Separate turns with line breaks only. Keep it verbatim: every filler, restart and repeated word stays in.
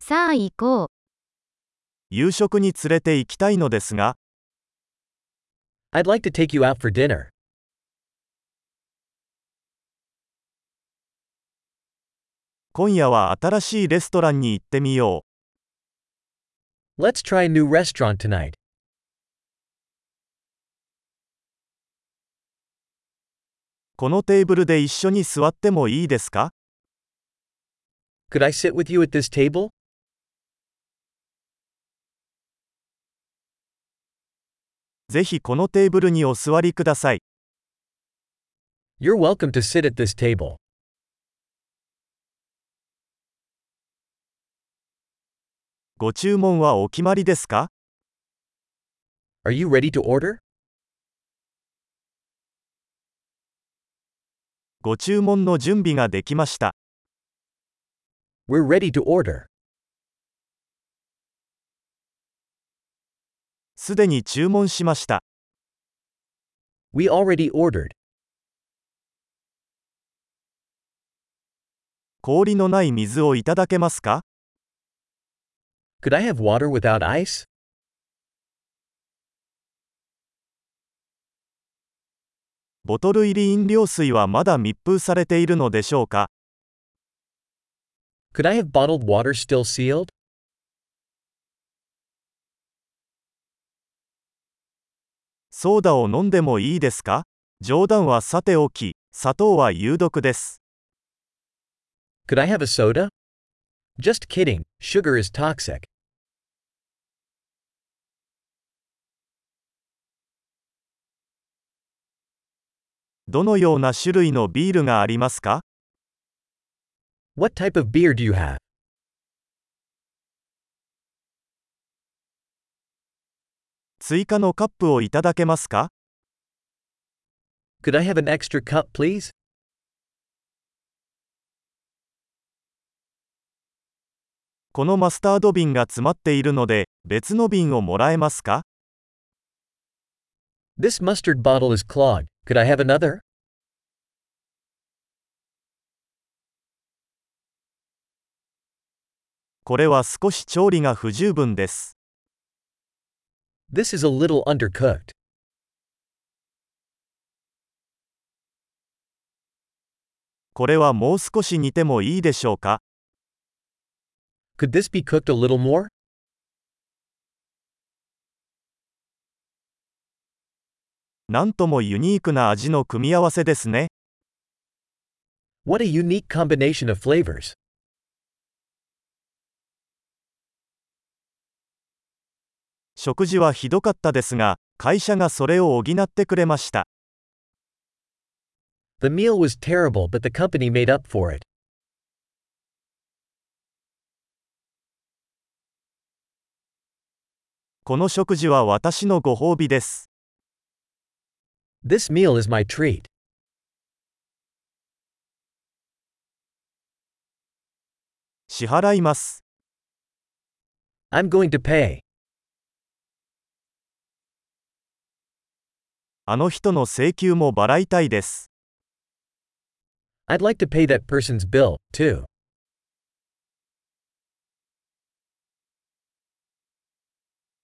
さあ行こう。
夕食に連れて行きたいのですが、
I'd like to take you out for dinner.
今夜は新しいレストランに行ってみよう。
Let's try a new restaurant tonight.
このテーブルで一緒に座ってもいいですか？
Could I sit with you at this table?
ぜひこのテーブルにお座りください。
You're welcome to sit at this table.
ご注文はお決まりですか？
Are you ready to order?
ご注文の準備ができました。
We're ready to order.
すでに注文しました。
We already ordered.
氷のない水をいただけますか？
Could I have water without ice?
ボトル入り飲料水はまだ密封されているのでしょうか？
Could I have bottled water still sealed?
ソーダを飲んでもいいですか？冗談はさておき、砂糖は有毒です。
Could I have a soda? Just kidding, sugar is toxic.
どのような種類のビールがありますか？
What type of beer do you have?
追加のカップをいただけますか？
Could I have an extra cup, please?
このマスタード瓶が詰まっているので、別の瓶をもらえますか？
This mustard bottle is clogged. Could I have another?
これは少し調理が不十分です。
This is a little undercooked.
これはもう少し煮てもいいでしょうか？
Could this be cooked a little more?
なんともユニークな味の組み合わせですね。
What a unique combination of flavors.
食事はひどかったですが、会社がそれを補ってくれました。
The meal was terrible, but the company made up for it.
この食事は私のご褒美です。
This meal is my treat.
支払います。
I'm going to pay.
あの人の請求も払いたいです。
I'd like to pay that person's bill, too.